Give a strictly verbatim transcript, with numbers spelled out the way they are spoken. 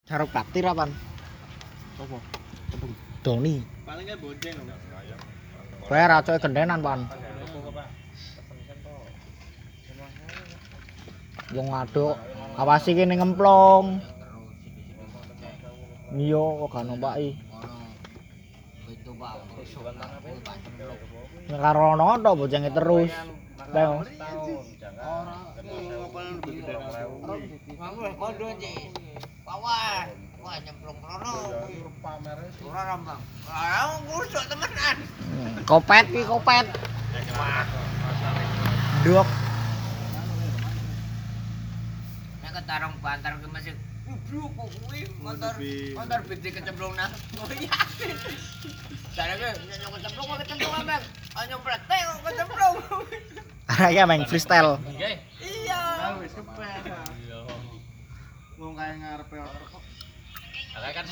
Sarung bakti rapan. Apa? Doni. Paling kan bonceng lho. Kowe racoke gendenan, Pan. Wong ngaduk, awas iki ning ngemplong. Iya, kok gak numpaki. Itu Pak, Nek karo ono tok boncenge terus. Leo. Nganggo kondo Ci. Pawan. Wah nyemplung rono. Ora rambang. Ah, ngusuk temenan. Kopet iki kopet. Duk. Nek ketarung bantar ki mesti kudu kok kuwi motor motor bede kecemplung nang. Oh iya. Jarane nyok kecemplung kok kecemplung ambek. Ah nyempret kok kecemplung. Arek main freestyle. Iya. Wis kepet. Wong kae ngarepe kok. Kan